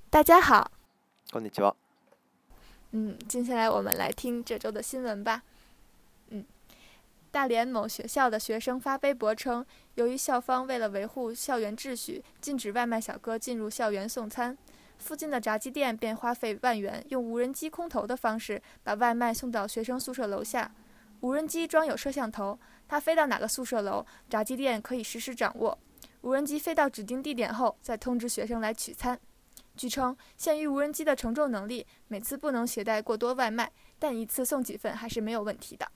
大家好， こんにちは。 接下来我们来听这周的新闻吧。大连某学校的学生发微博称，由于校方为了维护校园秩序，禁止外卖小哥进入校园送餐，附近的炸鸡店便花费万元，用无人机空投的方式把外卖送到学生宿舍楼下。无人机装有摄像头，它飞到哪个宿舍楼，炸鸡店可以实时掌握。无人机飞到指定地点后，再通知学生来取餐。据称，限于无人机的承重能力，每次不能携带过多外卖，但一次送几份还是没有问题的。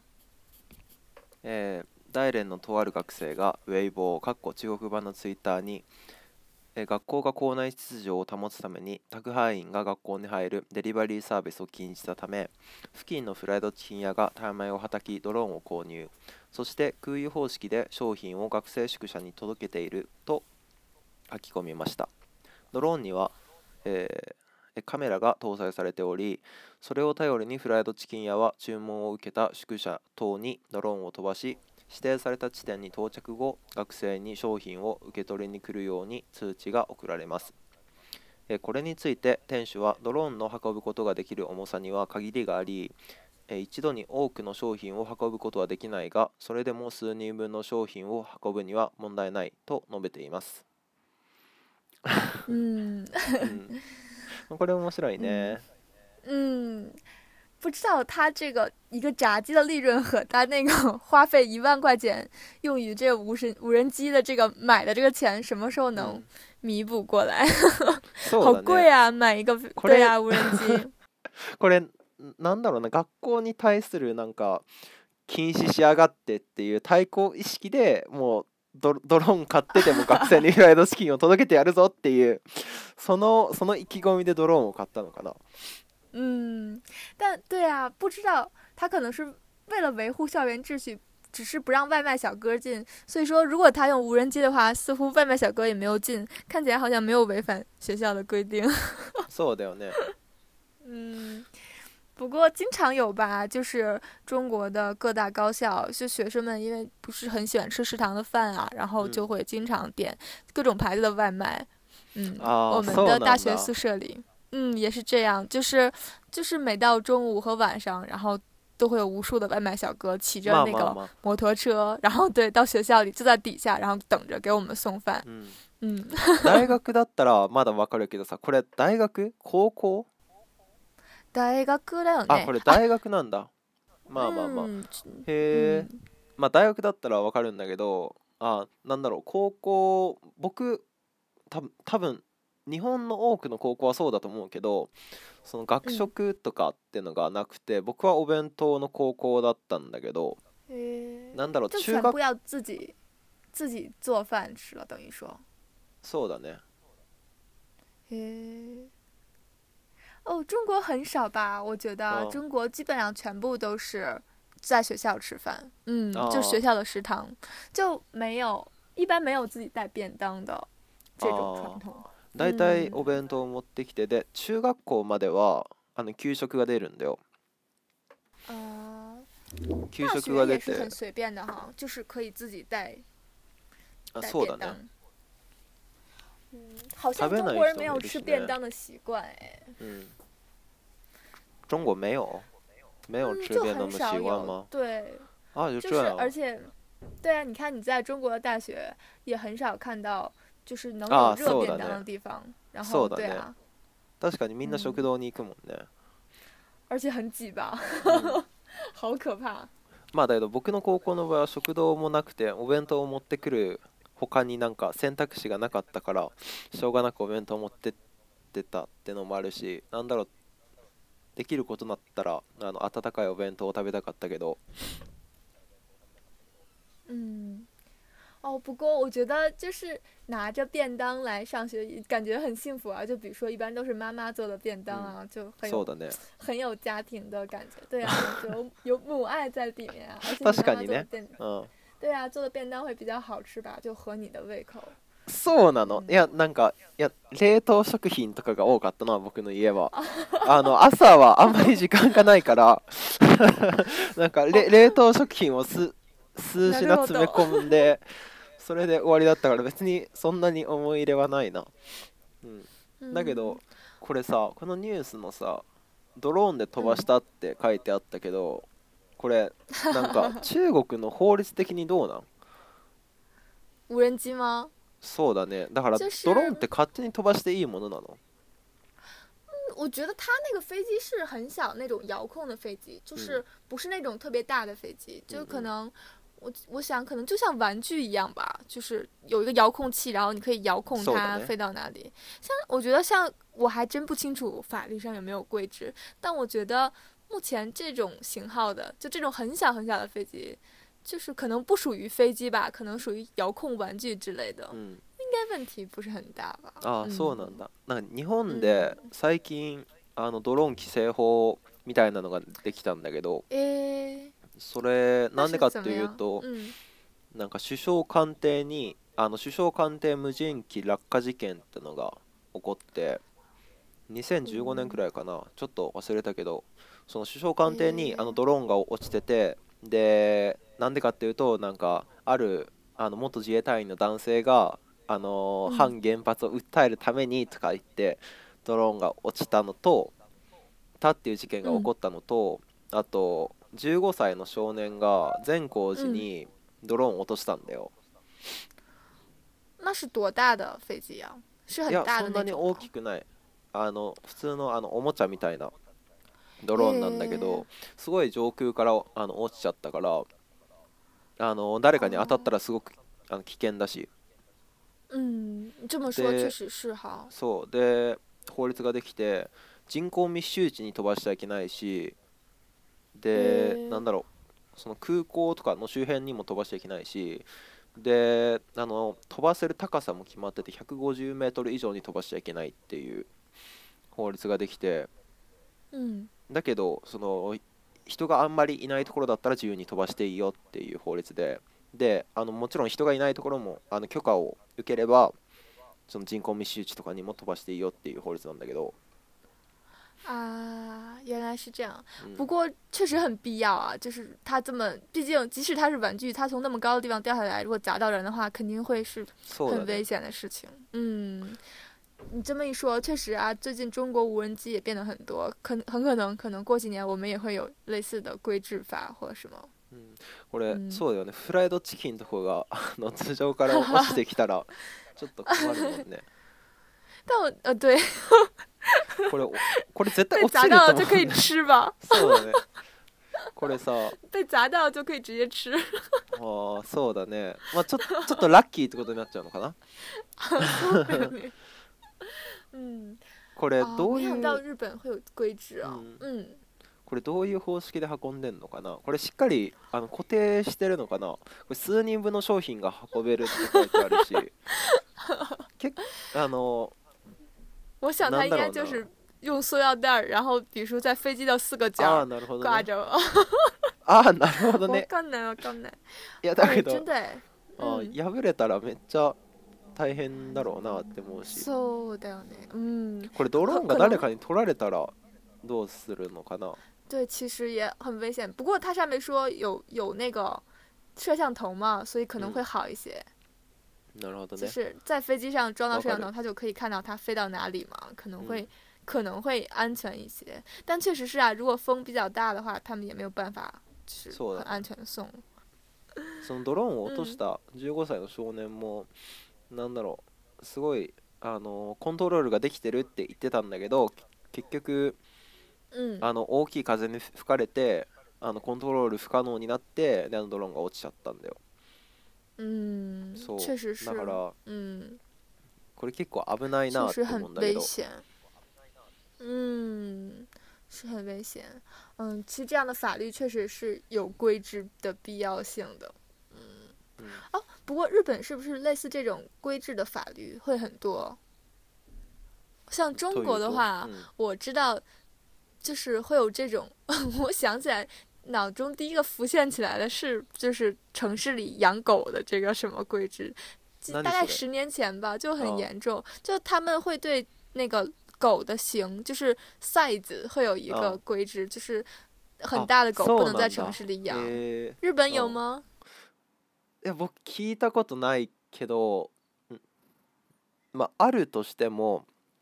大連のとある学生がウェイボー中国版のツイッターに、学校が校内秩序を保つために宅配員が学校に入るデリバリーサービスを禁じたため、付近のフライドチキン屋がタイ米をはたきドローンを購入、そして空輸方式で商品を学生宿舎に届けていると書き込みました。ドローンには、カメラが搭載されており、それを頼りにフライドチキン屋は注文を受けた宿舎等にドローンを飛ばし、指定された地点に到着後、学生に商品を受け取りに来るように通知が送られます。これについて店主は、ドローンの運ぶことができる重さには限りがあり、一度に多くの商品を運ぶことはできないが、それでも数人分の商品を運ぶには問題ないと述べています。これ面白いね。 不知道他这个一个炸鸡的利润和他那个花费1万块钱用于这个无人机的这个买的这个钱什么时候能弥补过来？好贵啊，买一个对啊无人机。 これなんだろうな、学校に対するなんか禁止しやがってっていう対抗意識でもうドローン買ってでも学生にフライドチキンを届けてやるぞっていうその意気込みでドローンを買ったのかな。 但对啊，不知道他可能是为了维护校园秩序，只是不让外卖小哥进。所以说，如果他用无人机的话，似乎外卖小哥也没有进，看起来好像没有违反学校的规定。 そうだよね。 不过经常有吧，就是中国的各大高校，就学生们因为不是很喜欢吃食堂的饭啊，然后就会经常点各种牌子的外卖。我们的大学宿舍里。也是这样，就是每到中午和晚上，然后都会有无数的外卖小哥骑着那个摩托车，然后对到学校里就在底下，然后等着给我们送饭。 大学だったらまだわかるけどさ、これ大学高校？ 大学だよね。 あ、これ大学なんだ。まあへえ。まあ大学だったらわかるんだけど、なんだろう、高校、僕多分日本の多くの高校はそうだと思うけど、その学食とかっていうのがなくて、僕はお弁当の高校だったんだけど、なんだろう、 就全部要自己做饭吃了，等于说。 そうだね。 中国很少吧？我觉得中国基本上全部都是在学校吃饭，就学校的食堂，就一般没有自己带便当的这种传统。 だいたいお弁当を持ってきて、で中学校までは給食が出るんだよ。給食が出て。 大学也是很随便的哈，就是可以自己带そうだね。 好像中国人没有吃便当的习惯哎。 中国没有吃便当的习惯吗？ 对。 就这样。 而且，对啊，你看你在中国的大学也很少看到。就是能有热便当的地方，然后对啊， 確かにみんな食堂に行くもんね。 而且很挤吧，好可怕。 まあだけど僕の高校の場合は食堂もなくて、お弁当を持ってくる他になんか選択肢がなかったから、しょうがなくお弁当を持ってってたってのもあるし、なんだろう、できることだったら温かいお弁当を食べたかったけど。 不过我觉得就是拿着便当来上学，感觉很幸福啊。就比如说，一般都是妈妈做的便当啊，就很有家庭的感觉。对啊，就有母愛在里面啊。而且確かにね。 对啊，做的便当会比较好吃吧，就合你的胃口。 そうなの。いやなんか冷凍食品とかが多かったな、僕の家は。朝はあんまり時間がないからなんか冷凍食品を数品詰め込んで。それで終わりだったから別にそんなに思い入れはないな。 だけどこれさ、このニュースのさ、ドローンで飛ばしたって書いてあったけど、これなんか中国の法律的にどうなん？ 无人机吗？ そうだね。だから就是ドローンって勝手に飛ばしていいものなの？ 我觉得它那个飞机是很小那种遥控的飞机，就是不是那种特别大的飞机，就可能我想可能就像玩具一样吧，就是有一个遥控器，然后你可以遥控它飞到哪里。像我觉得像我还真不清楚法律上有没有规制，但我觉得目前这种型号的，就这种很小很小的飞机，就是可能不属于飞机吧，可能属于遥控玩具之类的，应该问题不是很大吧。 ああ、そうなんだ。なんか日本で最近ドローン規制法みたいなのができたんだけど、それなんでかっていうと、なんか首相官邸に首相官邸無人機落下事件ってのが起こって、2015年くらいかな、ちょっと忘れたけど、その首相官邸にドローンが落ちてて、でなんでかっていうと、なんかある元自衛隊員の男性が反原発を訴えるためにとか言ってドローンが落ちたのとたっていう事件が起こったのと、あと15歳の少年が善光寺にドローンを落としたんだよ。 那是多大的飛機呀？是很いや大そんなに大きくない、普通のおもちゃみたいなドローンなんだけど、すごい上空から落ちちゃったから、誰かに当たったらすごく危険だし、 这么说确实是哈。 そうで法律ができて、人口密集地に飛ばしちゃいけないし、でなんだろう、その空港とかの周辺にも飛ばしちゃいけないし、で飛ばせる高さも決まってて150メートル以上に飛ばしちゃいけないっていう法律ができて、だけどその人があんまりいないところだったら自由に飛ばしていいよっていう法律で、もちろん人がいないところも許可を受ければその人口密集地とかにも飛ばしていいよっていう法律なんだけど。 啊，原来是这样。不过确实很必要啊，就是它这么，毕竟即使它是玩具，它从那么高的地方掉下来，如果砸到人的话，肯定会是很危险的事情。你这么一说，确实啊，最近中国无人机也变得很多，很可能过几年我们也会有类似的规制法或者什么。 これ、そうだよね。フライドチキンとかが頭上から落ちてきたらちょっと困るもんね。 但我对これ絶対被砸落ちると思う、ね。 到就可以吃吧？ そうだね。これさ、 被砸到就可以直接吃。 ああ、そうだね。まあちょっとラッキーってことになっちゃうのかな。 そうだよね。 これどういう、 没想到日本会有规制啊。 これどういう方式で運んでんのかな。これしっかり固定してるのかな。これ数人分の商品が運べるって書いてあるし、 我想它应该就是用塑料袋，然后比如说在飞机的4个角挂着。 ああ、なるほどね。 わかんない。 いやだけど、 真的破れたらめっちゃ大変だろうなって思うし。 そうだよね。 これドローンが誰かに取られたらどうするのかな。 对，其实也很危险。不过它上面说有那个摄像头嘛，所以可能会好一些。 なるほどね。 就是在飞机上装到摄像头，它就可以看到它飞到哪里嘛，可能会安全一些。但确实是啊，如果风比较大的话，他们也没有办法就是很安全的送。 そのドローンを落とした15歳の少年も、なんだろう、すごいコントロールができてるって言ってたんだけど、結局、大きい風に吹かれてコントロール不可能になって、でドローンが落ちちゃったんだよ。そう确实是。 だから、これ結構危ないなって思うんだけど。 是很危险。其实这样的法律确实是有规制的必要性的。不过日本是不是类似这种规制的法律会很多？像中国的话，我知道就是会有这种我想起来脑中第一个浮现起来的是就是城市里养狗的这个什么规制，大概10年前吧，就很严重。就他们会对那个狗的型就是 size 会有一个规制，就是很大的狗不能在城市里养。日本有吗？ いや僕聞いたことないけど、まああるとしても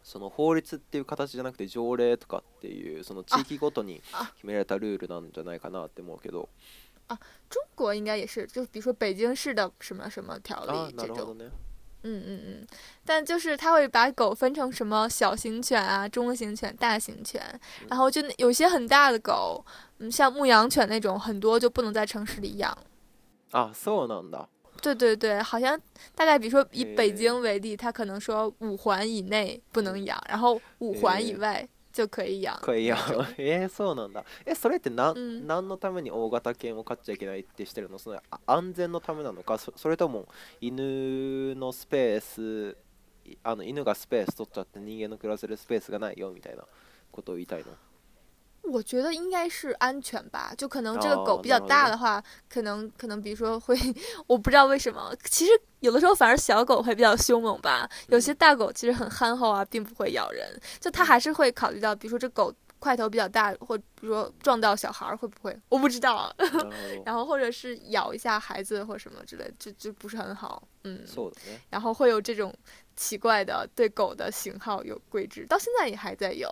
その法律っていう形じゃなくて条例とかっていうその地域ごとに啊， 決められたルールなんじゃないかなって思うけど。 中国应该也是，就比如说北京市的什么什么条あ、 例这种。 なるほどね。 但就是他会把狗分成什么小型犬啊、中型犬、大型犬，然后就有些很大的狗，像牧羊犬那种，很多就不能在城市里养。 あ、そうなんだ。 对对对，好像大概比如说以北へ京为例，它可能说5环以内不能养，然后5环以外就可以养可以やん。 那种。 そうなんだ。それって嗯， 何のために大型犬を飼っちゃいけないってしてるの？その安全のためなのか、それとも犬のスペース、犬がスペース取っちゃって人間の暮らせるスペースがないよみたいなことを言いたいの？ 我觉得应该是安全吧，就可能这个狗哦比较大的话，可能比如说会，我不知道为什么，其实有的时候反而小狗会比较凶猛吧，有些大狗其实很憨厚啊，并不会咬人，就它还是会考虑到，比如说这狗块头比较大，或比如说撞到小孩会不会，我不知道啊， なるほど。 然后或者是咬一下孩子或什么之类，就不是很好， そうだね。 然后会有这种奇怪的对狗的型号有规制，到现在也还在有，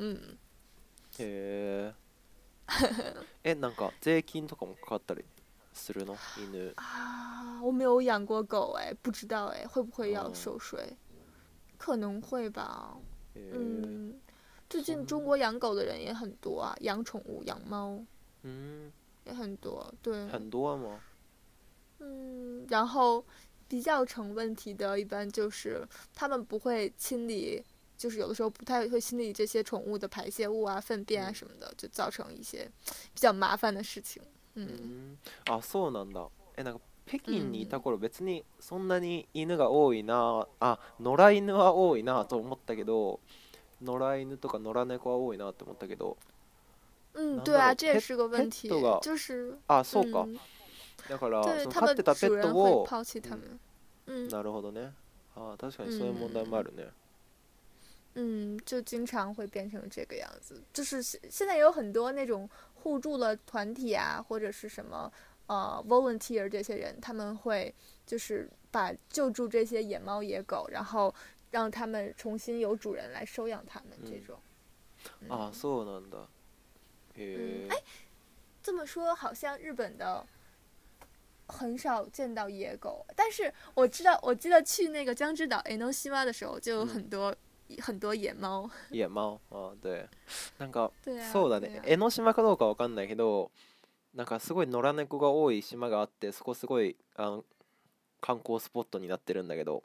へえ。なんか税金とかもかかったりするの？犬。 啊，我没有养过狗哎，不知道哎，会不会要哦收税？可能会吧。 へえ。 最近中国养狗的人也很多啊，养宠物、养猫也很多，对， 很多吗？ 然后比较成问题的，一般就是他们不会清理，就是有的时候不太会清理这些宠物的排泄物啊、粪便啊什么的，就造成一些比较麻烦的事情。 あ、そうなんだ。なんか北京にいた頃別にそんなに犬が多いな、野良犬は多いなと思ったけど、野良犬とか野良猫は多いなって思ったけど、 对啊，这也ペ是个问题， ペットが、 就是そうか。だからその对他们飼ってたペ主人会ットを、 抛弃他们。 なるほどね。確かにそういう問題もあるね。 就经常会变成这个样子。就是现在有很多那种互助的团体啊，或者是什么volunteer 这些人，他们会就是把救助这些野猫野狗，然后让他们重新有主人来收养他们这种。 あ、そうなんだ。へえ。 这么说好像日本的很少见到野狗，但是我记得去那个江之岛江ノ島的时候，就有很多、很多野猫。 野猫。对。なんか、 对啊， そうだね。江ノ島かどうかわかんないけど、なんかすごい野良猫が多い島があって、そこすごい観光スポットになってるんだけど。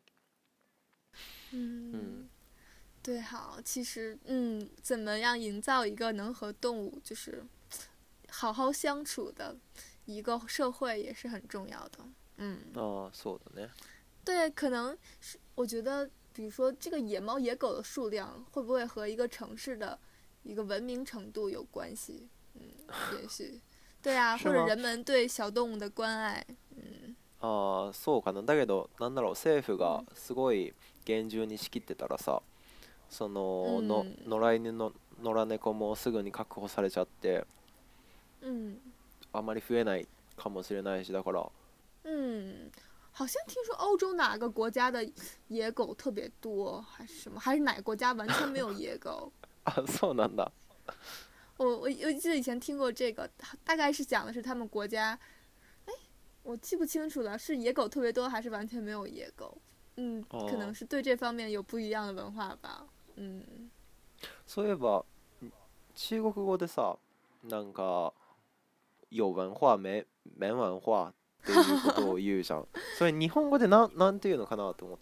对，好，其实怎么样营造一个能和动物就是好好相处的一个社会也是很重要的。 そうだね。 对，可能是我觉得，比如说这个野猫野狗的数量会不会和一个城市的一个文明程度有关系？也许，对啊， 是吗或者人们对小动物的关爱。 そうかな。だけどなんだろう、政府がすごい厳重に仕切ってたらさ、その、野良犬の野良猫もすぐに確保されちゃって、あまり増えないかもしれないし、だから。 好像听说欧洲哪个国家的野狗特别多，还是什么？还是哪个国家完全没有野狗？ そうなんだ。 我记得以前听过这个，大概是讲的是他们国家，我记不清楚了，是野狗特别多还是完全没有野狗？可能是对这方面有不一样的文化吧。 そういえば中国語でさ、なんか有文化没文化っていうことを言うじゃん。それ日本語でなんていうのかなと思って。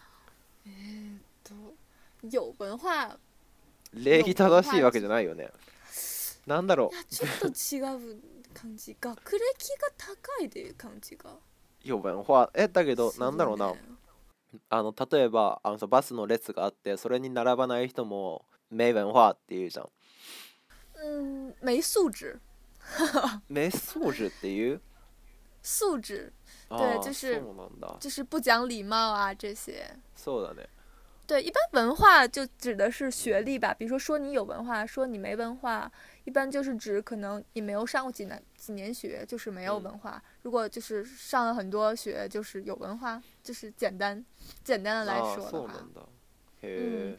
有文化。 礼儀正しいわけじゃないよね。なんだろう。 ちょっと違う感じ。学歴が高いで感じが。 有文化。だけどなんだろうな。例えばバスの列があって、それに並ばない人も没文化っていうじゃん。 没素质。 没素质っていう素质。对，就是不讲礼貌啊这些。 そうだね。 对，一般文化就指的是学历吧，比如说你有文化，说你没文化，一般就是指可能你没有上过几年学，就是没有文化。如果就是上了很多学，就是有文化，就是简单的来说的话。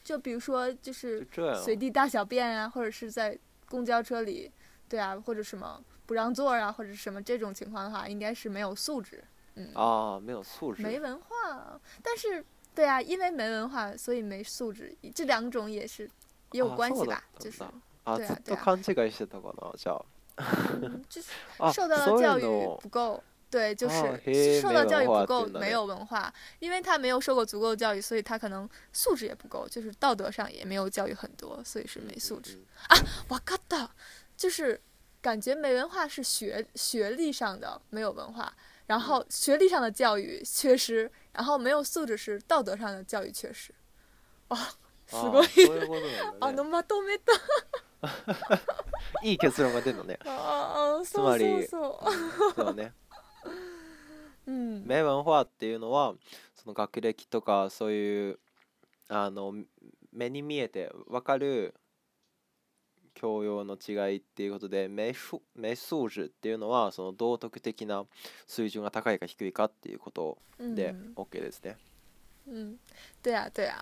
就比如说就是就这样。 随地大小便啊，或者是在公交车里，对啊，或者什么不让座啊，或者什么这种情况的话，应该是没有素质。 啊，没有素质。 没文化，但是对啊，因为没文化，所以没素质，这两种也有关系吧？就是あ、 对啊， ずっと勘違いしてたかな、じゃ就是あ。 受到的そうい教育うの。 不够。对，就是へえ、 受到教育不够， 没文化っていうんだ没ね。 有文化，因为他没有受过足够的教育，所以他可能素质也不够，就是道德上也没有教育很多，所以是没素质。啊，わかった，就是感觉没文化是学历上的没有文化，然后学历上的教育缺失，然后没有素质是道德上的教育缺失。哇，すごい。 そういうことなんだね。 まとめた。 いい結論が出るのね。つまり、そうね。名文化っていうのはその学歴とかそういう目に見えて分かる教養の違いっていうことで、名素質っていうのはその道徳的な水準が高いか低いかっていうことで OK ですね。 对啊对啊。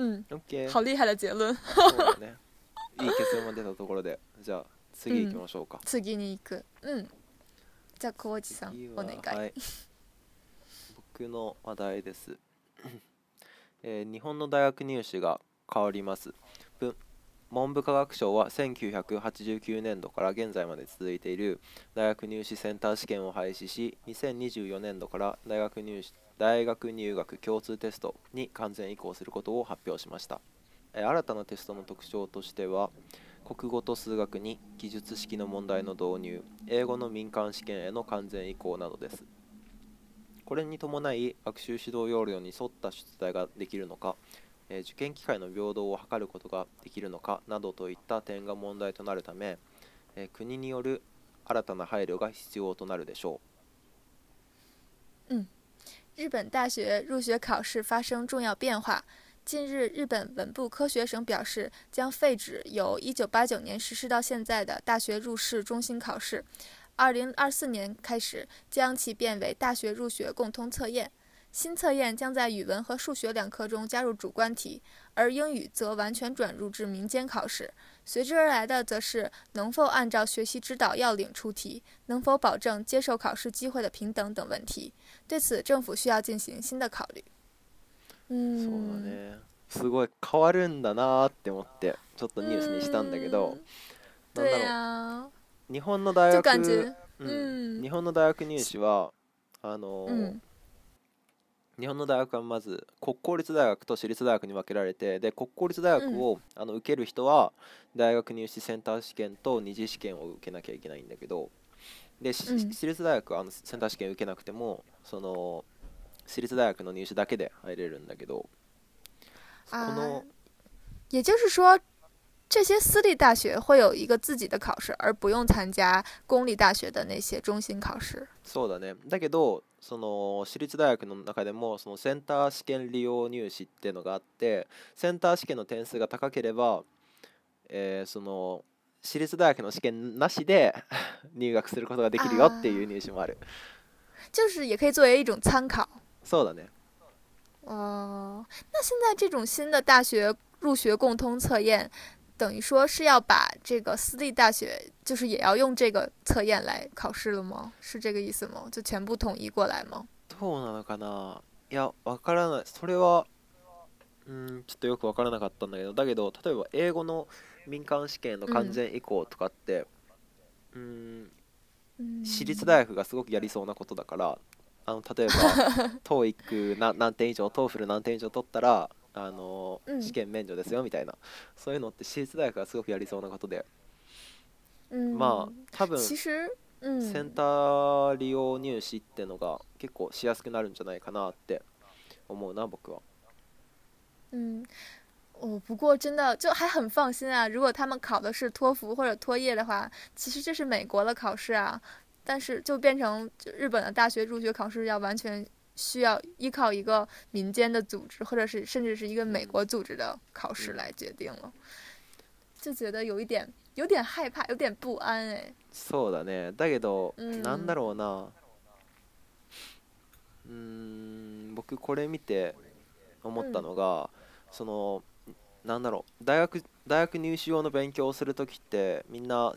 OK。 好厉害的结論。 そうだね。いい結論が出たところで、じゃあ次行きましょうか。 次に行く。じゃあ浩二さんお願い。 はい。僕の話題です。日本の大学入試が変わります。文部科学省は1989年度から現在まで続いている大学入試センター試験を廃止し、2024年度から大学入学共通テストに完全移行することを発表しました。新たなテストの特徴としては、国語と数学に記述式の問題の導入、英語の民間試験への完全移行などです。これに伴い、学習指導要領に沿った出題ができるのか、受験機会の平等を図ることができるのかなどといった点が問題となるため、国による新たな配慮が必要となるでしょう。日本大学入学考试发生重要变化。近日，日本文部科学省表示，将废止由1989年实施到现在的大学入试中心考试，2024年开始将其变为大学入学共通测验。新测验将在语文和数学两科中加入主观题，而英语则完全转入至民间考试。随之而来的则是能否按照学习指導要領出題，能否保證接受考試機會的平等等問題。對此，政府需要進行新的考慮。 そうだね。すごい変わるんだなって思ってちょっとニュースにしたんだけど、なんだろう。日本の大学、日本の大学入試は日本の大学はまず国公立大学と私立大学に分けられて、で国公立大学を受ける人は大学入試センター試験と二次試験を受けなきゃいけないんだけど、で私立大学はセンター試験受けなくてもその私立大学の入試だけで入れるんだけど、この也就是说这些私立大学会有一个自己的考试，而不用参加公立大学的那些中心考試。 そうだね。だけどその私立大学の中でもそのセンター試験利用入試っていうのがあって、センター試験の点数が高ければ、その私立大学の試験なしで入学することができるよっていう入試もある。 就是也可以作为一种参考。 そうだね。 那现在这种新的大学入学共通测验，等于说是要把这个私立大学就是也要用这个测验来考试了吗？是这个意思吗？就全部统一过来吗？ どうなのかな。いや、わからない。それはちょっとよくわからなかったんだけど、例えば英語の民間試験の完全移行とかって、私立大学がすごくやりそうなことだから、例えばTOEIC 何点以上、TOEFL 何点以上取ったら試験免除ですよみたいな、そういうのって私立大学がすごくやりそうなことで、まあ多分センター利用入試ってのが結構しやすくなるんじゃないかなって思うな、僕は。 不过真的就还很放心啊。如果他们考的是托福或者托业的话，其实这是美国的考试啊，但是就变成日本的大学入学考试要完全需要依靠一个民间的组织，或者是甚至是一个美国组织的考试来决定了，就觉得有点害怕，有点不安哎。 そうだね。だけど、なんだろうな。僕これ見て思ったのが、そのなんだろう、大学入試用の勉強をするときってみんな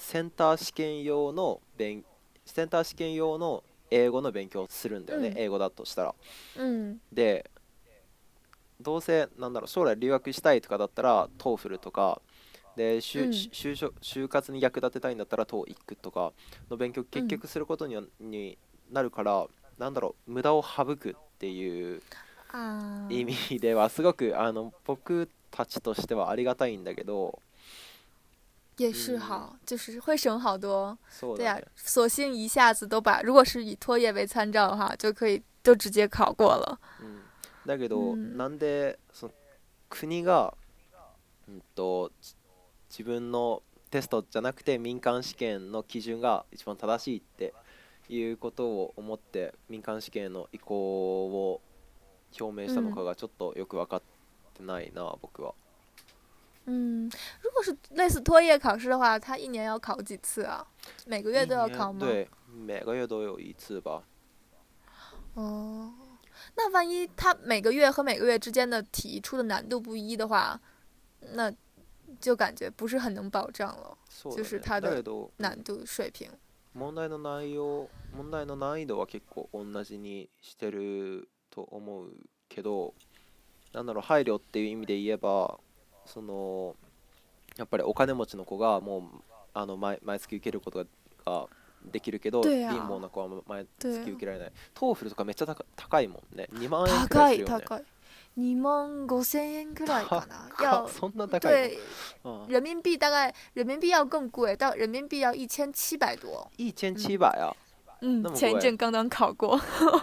センター試験用の英語の勉強をするんだよね、 嗯英語だとしたら。 嗯で、どうせなんだろう、将来留学したいとかだったら TOEFL とかで、 嗯就活に役立てたいんだったら TOEIC とかの勉強結嗯局することになるから、なんだろう、無駄を省くっていう意啊， 味ではすごく僕たちとしてはありがたいんだけど、 也うん、 是好，就是会省好多。对呀、 そうだね。 索性一下子都把，如果是以托业为参照的话，就可以都直接考过了。 うん、だけど嗯なんでその国が、自分のテストじゃなくて民間試験の基準が一番正しいっていうことを思って民間試験の移行を表明したの嗯かがちょっとよく分かってないな、僕は。 嗯，如果是类似托业考试的话，他一年要考几次啊？每个月一都要考吗？ 年对每个月都有一次吧。 哦，那万一他每个月和每个月之间的题出的难度不一的话，那就感觉不是很能保障了，就そうだね。 是他的だけど、 难度水平。 問題の難易度は結構同じにしてると思うけど、なんだろう、配慮っていう意味で言えば、そのやっぱりお金持ちの子がもう毎月受けることができるけど、貧乏对啊， な子は毎对啊， 月受けられない。トーフルとかめっちゃ高いもんね。2万円くらい高するよね。 い高い，2万5千円ぐらいかな。 高っ、 要そんな高いの？ 对ああ、 人民币大概人民币要更贵，到人民币要1700多。嗯 1700啊， 嗯，前一那么贵？ 阵刚刚考过，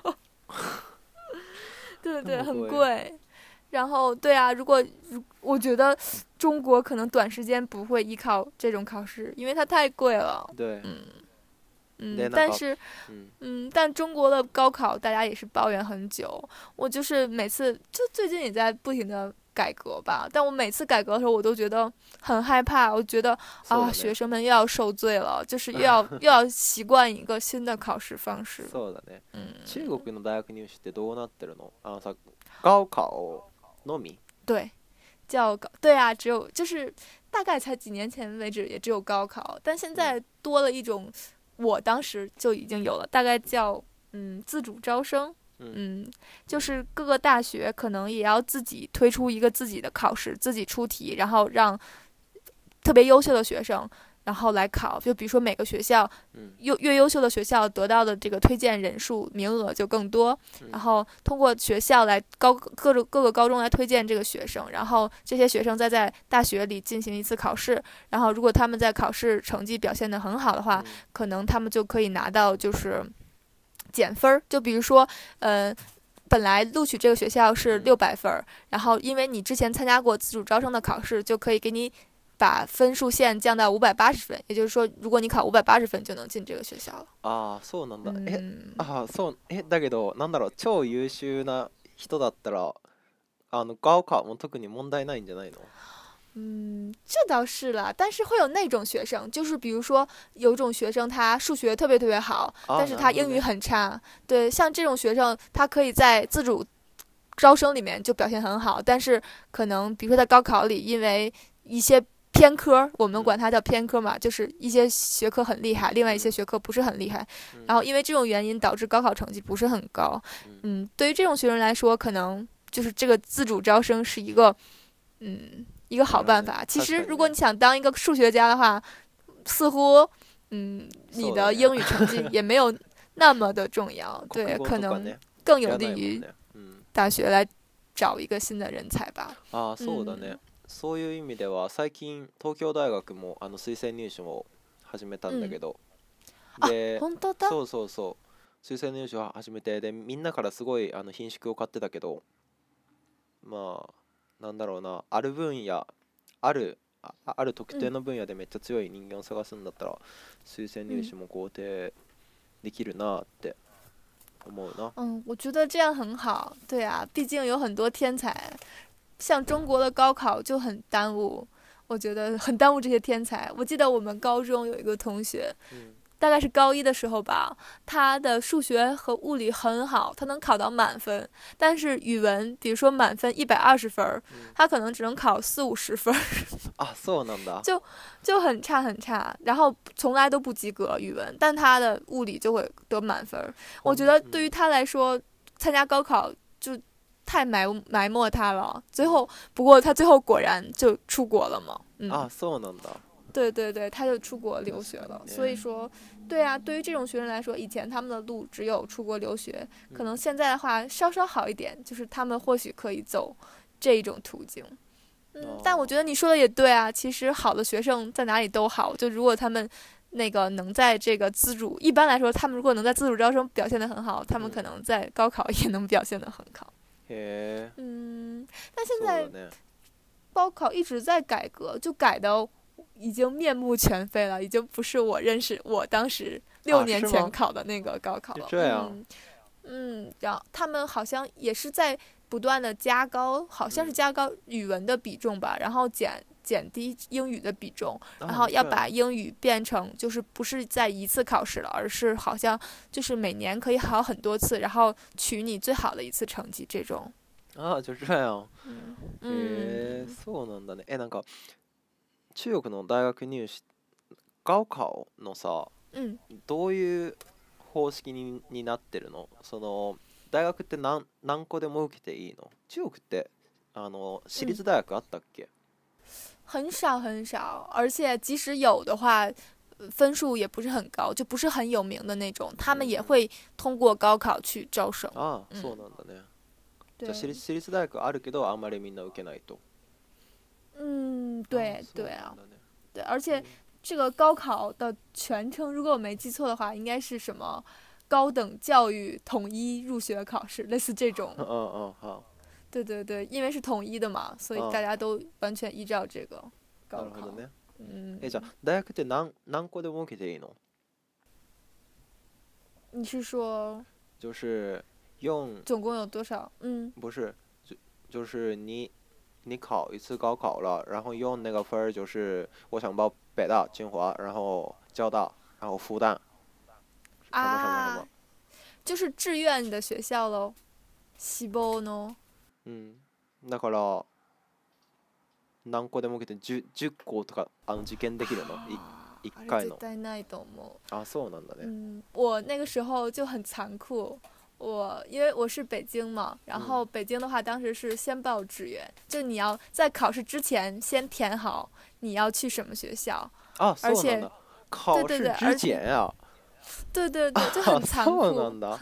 对那对，很么贵？ 贵。然后对啊，我觉得中国可能短时间不会依靠这种考试，因为它太贵了。 对。 嗯嗯， で、なんか、 但是うん、 但中国的高考大家也是抱怨很久。我就是每次就最近也在不停的改革吧，但我每次改革的时候，我都觉得很害怕。我觉得啊， そうだね。 学生们又要受罪了，就是又要习惯一个新的考试方式了。 そうだね。 嗯， 中国の大学入試ってどうなってるの？さ、高考のみ？ 对，叫高，对啊，只有就是大概才几年前为止也只有高考，但现うん。 在多了一种，我当时就已经有了，大概叫自主招生。 うん。 嗯，就是各个大学可能也要自己推出一个自己的考试，自己出题，然后让特别优秀的学生，然后来考。就比如说每个学校うん。 越优秀的学校得到的这个推荐人数名额就更多， うん。 然后通过学校来各个高中来推荐这个学生，然后这些学生再在大学里进行一次考试，然后如果他们在考试成绩表现得很好的话， うん。 可能他们就可以拿到就是减分儿。就比如说，本来录取这个学校是うん。 600分，然后因为你之前参加过自主招生的考试，就可以给你把分数线降到580分，也就是说，如果你考580分就能进这个学校了。 ああ、そうなんだ。 嗯だけど、なんだろう、超優秀な人だったら、高考も特に問題ないんじゃないの？ 这倒是了，但是会有那种学生，就是比如说有一种学生他数学特别好， ああ、 但是他英语なるほどね。 很差。对，像这种学生，他可以在自主招生里面就表现很好，但是可能比如说在高考里，因为一些偏科，我们うん。 管它叫偏科嘛，就是一些学科很厉害，另外一些うん。 学科不是很厉害， うん。 然后因为这种原因導致高考成绩不是很高。 うん。 对于这种学生来说，可能就是这个自主招生是一个好なるほどね。 办法。其实， 確かにね。 如果你想当一个数学家的话，似乎你そうだね。 的英语成绩也没有那么的重要。对， 国語可能とかね、 更いら有利于ないもんね。うん。 大学来找一个新的人才吧。 ああ、そうだね。 嗯そういう意味では、最近、東京大学も推薦入試を始めたんだけ嗯ど、 啊， で、 本当だ。 そうそうそう、推薦入試を始めて、で、みんなからすごい品種を買ってたけど、まあ、なんだろうな、ある分野、ある特定嗯の分野でめっちゃ強い人間を探すんだったら、推薦入嗯試も肯定できるなって思うな。 我觉得这样很好。对啊，毕竟有很多天才，像中国的高考就很耽误，我觉得很耽误这些天才。我记得我们高中有一个同学， うん。 大概是高一的时候吧，他的数学和物理很好，他能考到满分，但是语文，比如说满分120分，他可能只能考40-50分。 あ、そうなんだ。 就很差很差，然后从来都不及格语文，但他的物理就会得满分。我觉得对于他来说，参加高考就太埋没他了。不过他最后果然就出国了嘛。 あ、そうなんだ。 对对对，他就出国留学了。所以说，对啊，对于这种学生来说，以前他们的路只有出国留学，可能现在的话稍稍好一点，就是他们或许可以走这一种途径。但我觉得你说的也对啊，其实好的学生在哪里都好，就如果他们那个能在这个自主，一般来说，他们如果能在自主招生表现得很好，他们可能在高考也能表现得很好。 へ嗯，但现在そうだね。 高考一直在改革，就改的已经面目全非了，已经不是我当时6年前考的那个高考了。 就这样。 然后他们好像也是在不断的加高，好像是加高语文的比重吧，然后减低英语的比重，然后要把英语变成就是不是在一次考试了，而是好像就是每年可以考很多次，然后取你最好的一次成绩这种。 あ、就这样。へえ、そうなんだね。なんか中国の大学入試高考のさ、どういう方式になってるの？その大学って何個でも受けていいの？中国って私立大学あったっけ？ 很少很少，而且即使有的话，分数也不是很高，就不是很有名的那种，他们也会通过高考去招生。 ああ、そうなんだね。じゃあ私立大学あるけどあんまりみんな受けないと。 对对啊，对，而且这个高考的全称，如果我没记错的话，应该是什么高等教育统一入学考试，类似这种。 好。 对对对，因为是统一的嘛，所以大家都完全依照这个高考。 なるほどね。じゃあ大学って何個でも受けていいの？ 你是说？ 就是总共有多少？ 不是，就是你考一次高考了，然后用那个分儿，就是我想报北大、清华，然后交大，然后复旦，什么什么什么。 就是志愿的学校喽。希望の。 だから何個でも受けて10個とか受験できるの？1回の。 絶対ないと思う。 あ、そうなんだね。 我那个时候就很残酷。因为我是北京嘛，然后北京的话，当时是先报志愿，就你要在考试之前先填好你要去什么学校。而且考试之前呀。 对对对，就很残酷。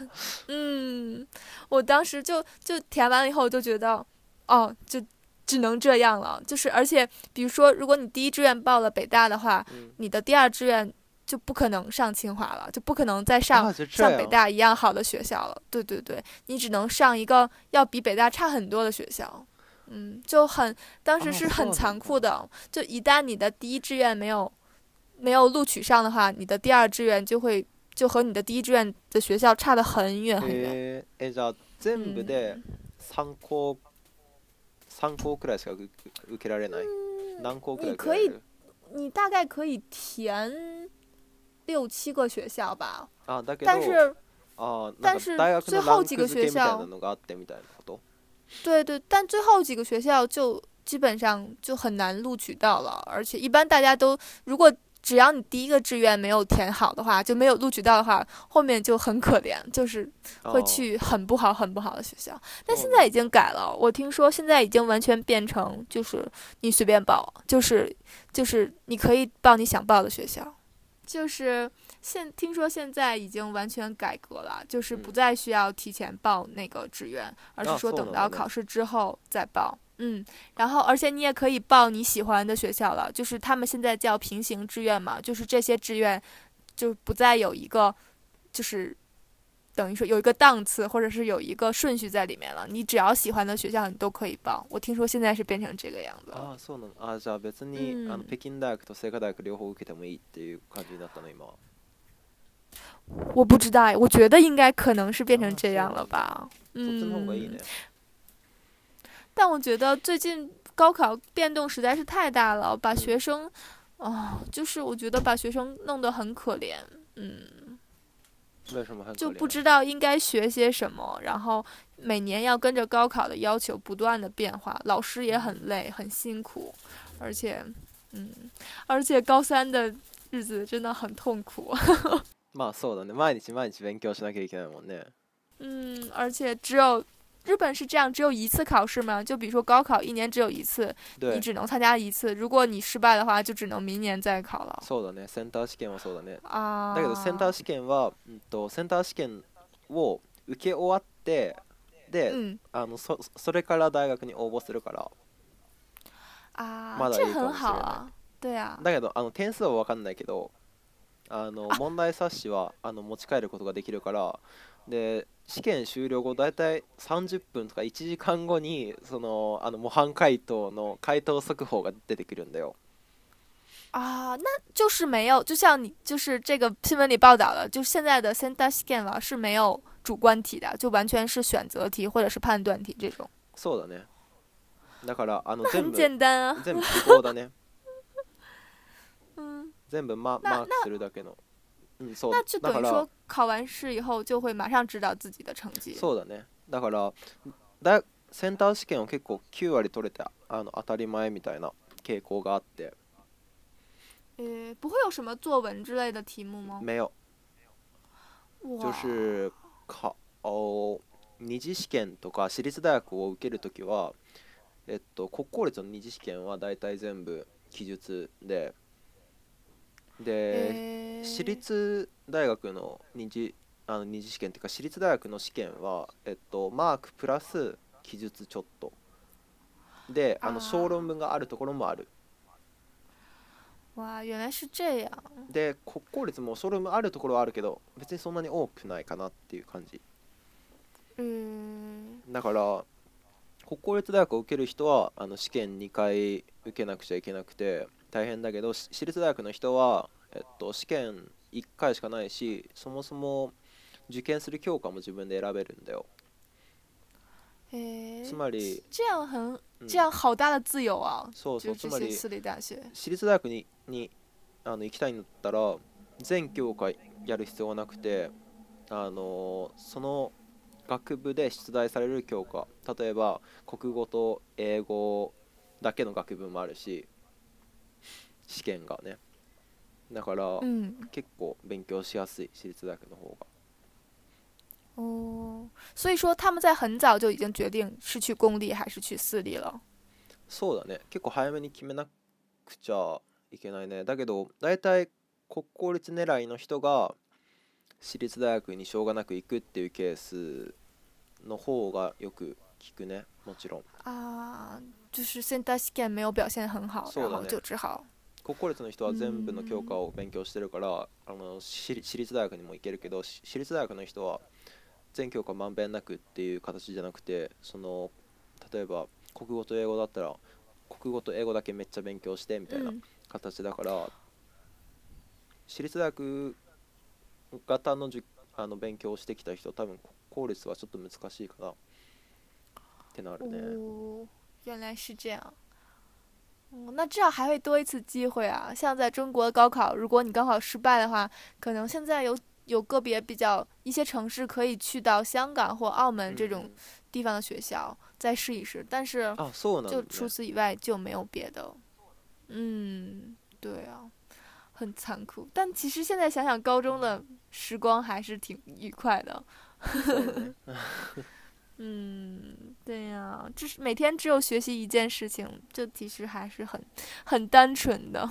我当时就填完了以后就觉得，就只能这样了。就是而且比如说，如果你第一志愿报了北大的话，你的第二志愿就不可能上清华了，就不可能再上像北大一样好的学校了。对对对，你只能上一个要比北大差很多的学校。当时是很残酷的。就一旦你的第一志愿没有录取上的话，你的第二志愿就和你的第一志愿的学校差得很远很远。 じゃあ全部で3校くらいしか受けられない？何校くらい受けられる？ 你大概可以填6-7个学校吧。但是最后几个学校，对对，但最后几个学校就基本上就很难录取到了，而且一般大家都如果只要你第一个志愿没有填好的话，就没有录取到的话，后面就很可怜，就是会去很不好的学校。但现在已经改了，我听说现在已经完全变成就是你随便报，就是你可以报你想报的学校。就是听说现在已经完全改革了，就是不再需要提前报那个志愿，而是说等到考试之后再报。然后而且你也可以报你喜欢的学校了，就是他们现在叫平行志愿嘛，就是这些志愿就不再有一个就是等于说有一个档次或者是有一个顺序在里面了，你只要喜欢的学校你都可以报。我听说现在是变成这个样子了。 そうなの。じゃあ別に北京大学と清華大学両方受けてもいいっていう感じだったの今は。 我不知道，我觉得应该可能是变成这样了吧。但我觉得最近高考变动实在是太大了，把学生就是我觉得把学生弄得很可怜。 为什么很可怜？ 就不知道应该学些什么，然后每年要跟着高考的要求不断的变化，老师也很累很辛苦，而且高三的日子真的很痛苦。 まあそうだね。毎日毎日勉強しなきゃいけないもんね。 而且日本是这样，只有一次考试吗？就比如说高考一年只有一次，你只能参加一次，如果你失败的话，就只能明年再考了。 そうだね。センター試験はそうだね。 あだけどセンター試験は、センター試験を受け終わってで、それから大学に応募するから。まだいいかもしれない。 这很好啊。对啊。 だけど点数は分かんないけど、問題冊子は持ち帰ることができるから。で試験終了後だいたい30分とか1時間後にその模範解答の回答速報が出てくるんだよ。 那就是没有，就像你就是这个新闻里报道的，就现在的センター試験は是没有主观题的，就完全是选择题或者是判断题这种。 そうだね。だから很简单啊。 全部記号だね。全部マークするだけの。 那就等于说考完试以后就会马上知道自己的成绩。 そうだね。だからセンター試験を結構9割取れて当たり前みたいな傾向があって。 不会有什么作文之类的题目吗？ 没有。就是二次試験とか私立大学を受けるときは、国公立の二次試験はだいたい全部記述で。私立大学の二次試験っていうか私立大学の試験は、マークプラス記述ちょっとで小論文があるところもある。 哇，原来是这样。 で国公立も小論文あるところはあるけど別にそんなに多くないかなっていう感じ。だから国公立大学を受ける人は試験2回受けなくちゃいけなくて大変だけど、私立大学の人は、試験1回しかないし、そもそも受験する教科も自分で選べるんだよ。つまり这样好大的自由啊。 そうそう。つまり私立大学私立大学に行きたいんだったら全教科やる必要はなくて、その学部で出題される教科、例えば国語と英語だけの学部もあるし、試験がね。だから、結構勉強しやすい私立大学の方が。 所以说他们在很早就已经决定是去公立还是去私立了。 そうだね。結構早めに決めなくちゃいけないね。だけどだいたい国公立狙いの人が私立大学にしょうがなく行くっていうケースの方がよく聞くね。もちろん。 就是センター試験没有表現很好，然后就只好。 国公立の人は全部の教科を勉強してるから私立大学にも行けるけど、私立大学の人は全教科まんべんなくっていう形じゃなくて、例えば国語と英語だったら国語と英語だけめっちゃ勉強してみたいな形だから、私立大学型の勉強をしてきた人は多分公立はちょっと難しいかなってなるね。 原来是这样。那至少还会多一次机会啊！像在中国高考，如果你高考失败的话，可能现在有个别一些城市可以去到香港或澳门这种地方的学校再试一试，但是就除此以外就没有别的。对啊，很残酷。但其实现在想想，高中的时光还是挺愉快的。对呀，就是每天只有学习一件事情，这其实还是很单纯的。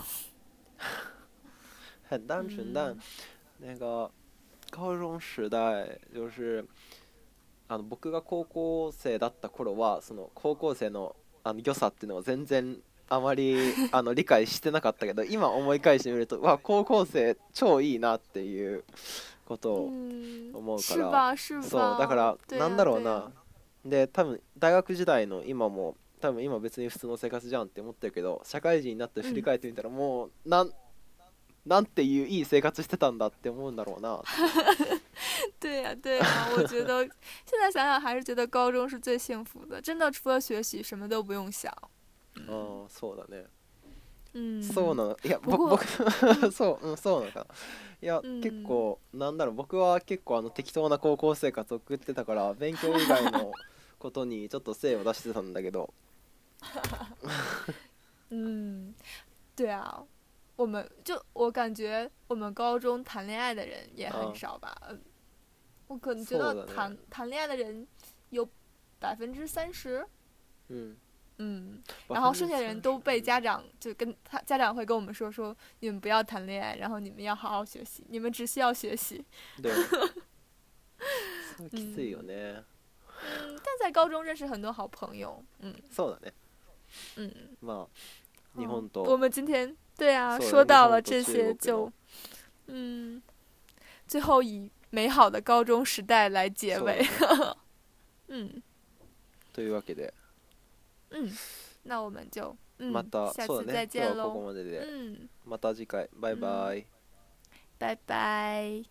很单纯，但那个高中时代就是僕が高校生だった頃はその高校生の良さっていうのを全然あまり理解してなかったけど、今思い返してみると高校生超いいなっていうことを思うから、そうだからなんだろうな。で多分大学時代の今も多分今別に普通の生活じゃんって思ってるけど、社会人になって振り返ってみたらもうなんていういい生活してたんだって思うんだろうな。 对呀对呀，我觉得现在想想还是觉得高中是最幸福的，真的除了学习什么都不用想。 そうだね。 そうなの。いや、 不過僕そう、そうなのかな。いや、結構なんだろう、僕は結構適当な高校生活を送ってたから、勉強以外のことにちょっと精を出してたんだけど。 对啊，我感觉我们高中谈恋爱的人也很あ、 少吧。我可能觉得そうだね。 谈恋爱的人有30%。 うん。 然后剩下的人都被 30%。 家长家长会跟我们说你们不要谈恋爱，然后你们要好好学习，你们只需要学习。 だよね。すごいきついよね。 但在高中认识很多好朋友。 そうだね。 嗯， まあ日本我と、 们今天对啊そうだね、日说到了本と中这些， 国の。 嗯，最后以美好的高中时代来结尾。 そうだね。 嗯というわけで、 那我们就また、 下次そうだね。今日はここ再见喽。 までで、また次回、バイバイ。 拜拜。